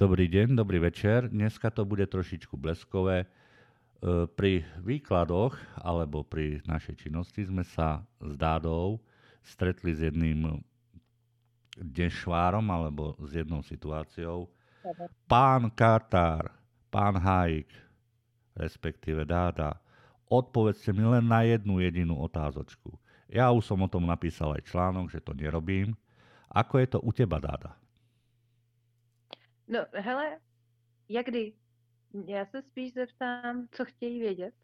Dobrý deň, dobrý večer. Dneska to bude trošičku bleskové. Pri výkladoch alebo pri našej činnosti sme sa s Dádou stretli s jedným dešvárom alebo s jednou situáciou. Pán Katár, pán Hájik, respektíve Dáda, odpovedzte mi len na jednu jedinú otázočku. Ja už som o tom napísal aj článok, že to nerobím. Ako je to u teba, Dáda? No, hele, jak kdy? Já se spíš zeptám, co chtějí vědět.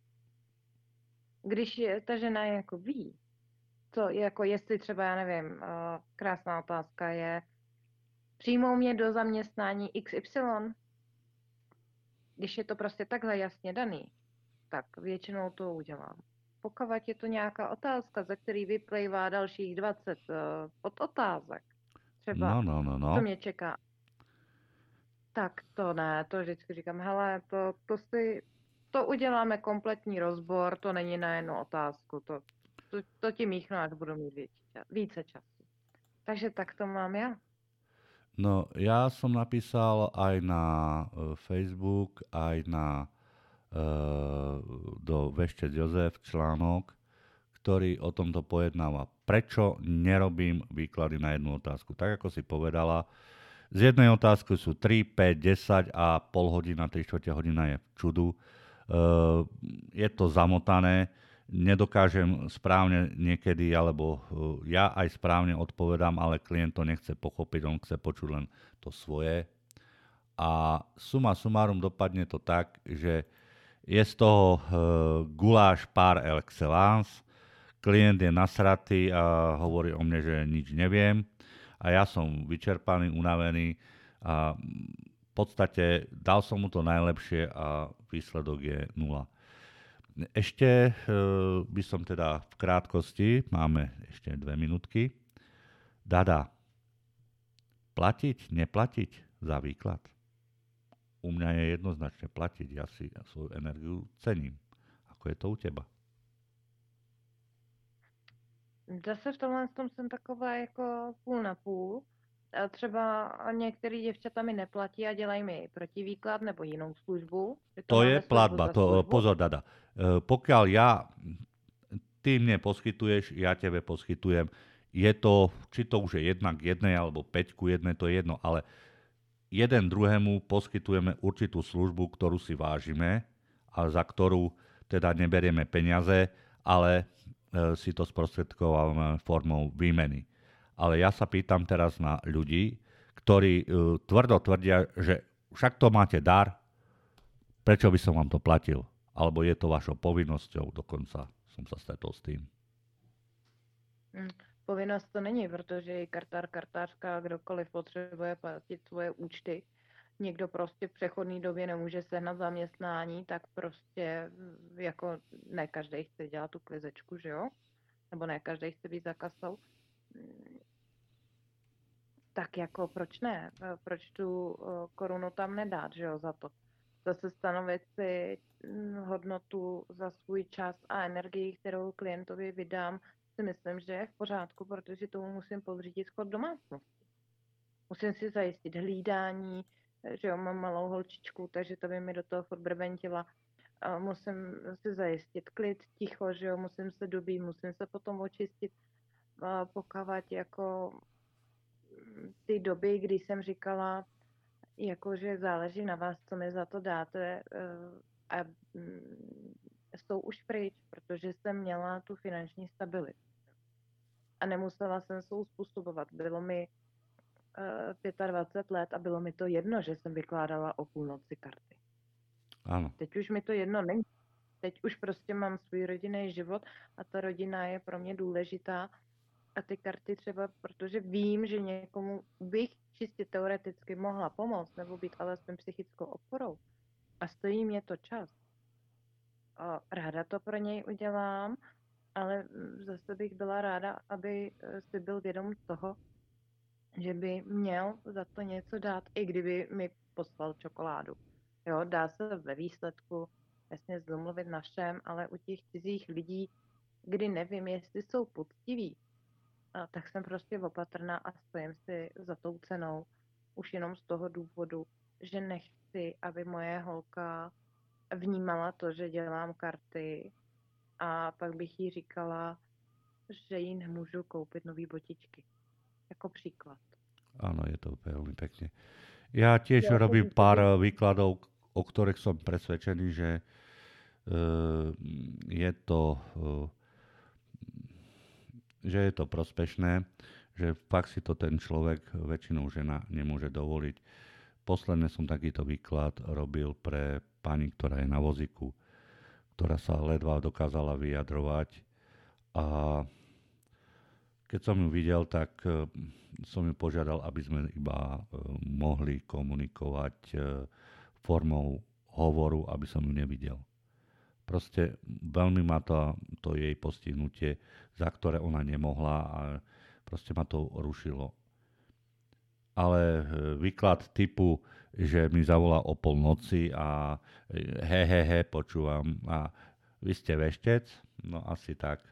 Když ta žena jako ví, co, jako jestli třeba, já nevím, krásná otázka je, přijmou mě do zaměstnání XY, když je to prostě takhle jasně daný, tak většinou to udělám. Pokud je to nějaká otázka, ze který vyplývá dalších 20 podotázek, třeba, co No. mě čeká, tak to ne, to vždycky říkám, hele, to uděláme kompletní rozbor, to není na jednu otázku, to ti míchnu, až budu mít více času. Takže tak to mám já. No, ja som napísal aj na Facebook, aj na do Veštec Jozef článok, ktorý o tomto pojednáva. Prečo nerobím výklady na jednu otázku? Tak ako si povedala, z jednej otázky sú 3, 5, 10 a pol hodina, 3/4 hodina je v čudu. Je to zamotané, nedokážem správne niekedy, alebo ja aj správne odpovedám, ale klient to nechce pochopiť, on chce počuť len to svoje. A suma sumárum dopadne to tak, že je z toho guláš par excellence, klient je nasratý a hovorí o mne, že nič neviem a ja som vyčerpaný, unavený a v podstate dal som mu to najlepšie a výsledok je nula. Ešte by som teda v krátkosti, máme ešte 2 minútky, Dada, platiť, neplatiť za výklad? U mňa je jednoznačne platiť, ja si svoju energiu cením. Ako je to u teba? Zase v tomhle tom jsem taková jako půl na půl. A třeba některý děvčata mi neplatí a dělají mi protivýklad nebo jinou službu. Že to To je máme službu platba. za službu. Pozor, Dada. Pokiaľ ty mne poskytuješ, ja tebe poskytujem, je to, či to už je 1:1 alebo 5:1, to je jedno, ale jeden druhému poskytujeme určitú službu, ktorú si vážime a za ktorú teda neberieme peniaze, ale si to sprostredkovávame formou výmeny. Ale ja sa pýtam teraz na ľudí, ktorí tvrdo tvrdia, že však to máte dar, prečo by som vám to platil? Alebo je to vašou povinnosťou, dokonca som sa stretol s tým. Povinnost to není, protože i kartář, kartářka, kdokoliv potřebuje platit svoje účty, někdo prostě v přechodné době nemůže sehnat zaměstnání, tak prostě jako ne každý chce dělat tu klizečku, že jo? Nebo ne každý chce být za kasou. Tak jako proč ne? Proč tu korunu tam nedát, že jo, za to? Zase stanovit si hodnotu za svůj čas a energii, kterou klientovi vydám, si myslím, že je v pořádku, protože tomu musím podřídit chod domácnosti. Musím si zajistit hlídání, že jo, mám malou holčičku, takže to by mi do toho furt brventila. Musím si zajistit klid, ticho, že jo, musím se dobít, musím se potom očistit, pokavat jako ty doby, kdy jsem říkala, jako, že záleží na vás, co mi za to dáte a jsou už pryč, protože jsem měla tu finanční stabilitu. A nemusela jsem se uspůsobovat. Bylo mi 25 let a bylo mi to jedno, že jsem vykládala o půlnoci karty. Áno. Teď už mi to jedno není. Teď už prostě mám svůj rodinný život a ta rodina je pro mě důležitá a ty karty třeba, protože vím, že někomu bych čistě teoreticky mohla pomoct nebo být alespoň psychickou oporou a stojí mě to čas. A ráda to pro něj udělám, ale zase bych byla ráda, aby si byl vědom toho, že by měl za to něco dát, i kdyby mi poslal čokoládu. Jo, dá se ve výsledku jasně zdomluvit na všem, ale u těch cizích lidí, kdy nevím, jestli jsou poctiví, tak jsem prostě opatrná a stojím si za tou cenou. Už jenom z toho důvodu, že nechci, aby moje holka vnímala to, že dělám karty a pak bych jí říkala, že jí nemůžu koupit nový botičky. Jako příklad. Áno, je to veľmi pekne. Ja tiež Ja robím som pár vtedy- výkladov, o ktorých som presvedčený, že je to prospešné, že fakt si to ten človek, väčšinou žena, nemôže dovoliť. Posledne som takýto výklad robil pre pani, ktorá je na vozíku, ktorá sa ledva dokázala vyjadrovať a keď som ju videl, tak som ju požiadal, aby sme iba mohli komunikovať formou hovoru, aby som ju nevidel. Proste veľmi ma to jej postihnutie, za ktoré ona nemohla a proste ma to rušilo. Ale výklad typu, že mi zavolá o polnoci a počúvam a vy ste veštec? No asi tak.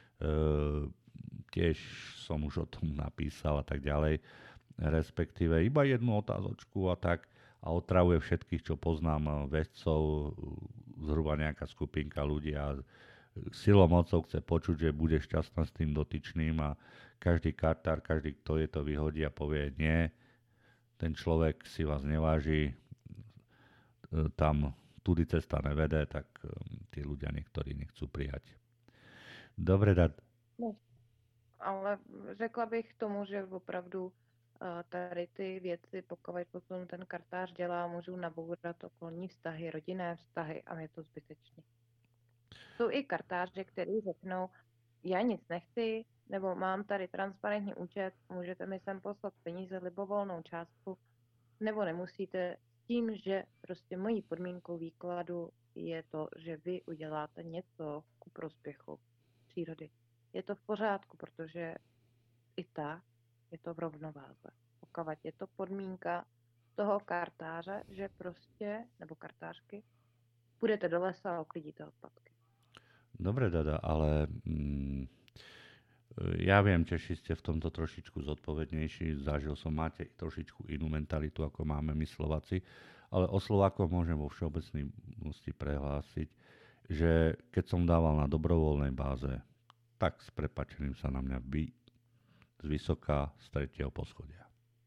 Tiež som už o tom napísal a tak ďalej. Respektíve iba jednu otázočku a tak a otravuje všetkých, čo poznám veštcov, zhruba nejaká skupinka ľudí a silou mocou chce počuť, že bude šťastná s tým dotyčným a každý kartár, každý, kto je to vyhodí a povie nie, ten človek si vás neváži, tam tudy cesta nevede, tak tí ľudia niektorí nechcú prijať. Dobre, No, ale řekla bych k tomu, že opravdu tady ty věci, pokud potom ten kartář dělá, můžou nabourat okolní vztahy, rodinné vztahy a je to zbytečné. Jsou i kartáři, kteří řeknou, já nic nechci, nebo mám tady transparentní účet, můžete mi sem poslat peníze, libovolnou částku, nebo nemusíte, s tím, že prostě mojí podmínkou výkladu je to, že vy uděláte něco ku prospěchu přírody. Je to v pořádku, protože i tak je to v rovnováze. Pokud je to podmínka toho kartáře, že prostě, nebo kartářky, půjdete do lesa a uklidíte odpadky. Dobre, Dada, ale ja viem, Češi ste v tomto trošičku zodpovednejší, zažil som, máte trošičku inú mentalitu, ako máme my Slováci, ale o Slovákoch môžem vo všeobecnosti prehlásiť, že keď som dával na dobrovoľnej báze, tak s prepáčením sa na mňa z vysoká z 3. poschodia.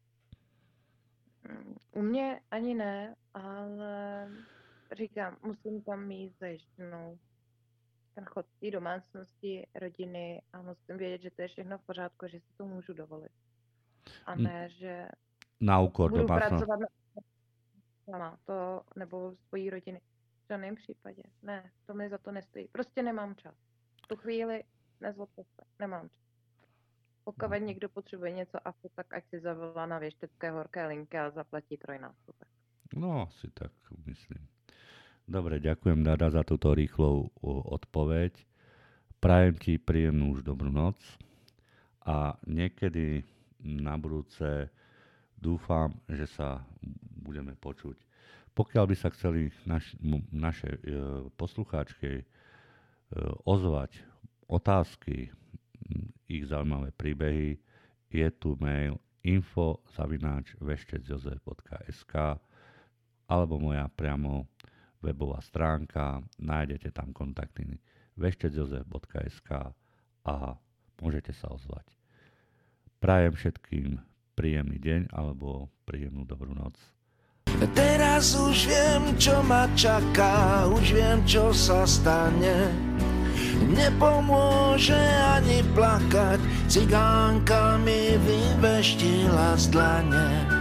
U mě ani ne, ale říkám, musím tam mít zajištěnou ten chod té domácnosti, rodiny a musím vědět, že to je všechno v pořádku, že si to můžu dovolit. A ne, že na úkor budu domácnosti. pracovat sama, to nebo svojí rodiny. V žádném případě. Ne, to mi za to nestojí. Prostě nemám čas. V tu chvíli nezlobte se, nemám čas. Pokud někdo potřebuje něco AFU, tak ať si zavolá na věštecké horké linky a zaplatí trojnásobek. No, asi tak myslím. Dobre, ďakujem, Dada, za túto rýchlu odpoveď. Prajem ti príjemnú už dobrú noc a niekedy na budúce dúfam, že sa budeme počuť. Pokiaľ by sa chceli naše poslucháčky ozvať otázky, ich zaujímavé príbehy, je tu mail info@veštecjozef.sk alebo moja priamo webová stránka, nájdete tam kontakty veštecjozef.sk a môžete sa ozvať. Prajem všetkým príjemný deň alebo príjemnú dobrú noc. Teraz už viem, čo ma čaká, už viem, čo sa stane. Nepomôže ani plakať, cigánka mi vyveštila z dlane.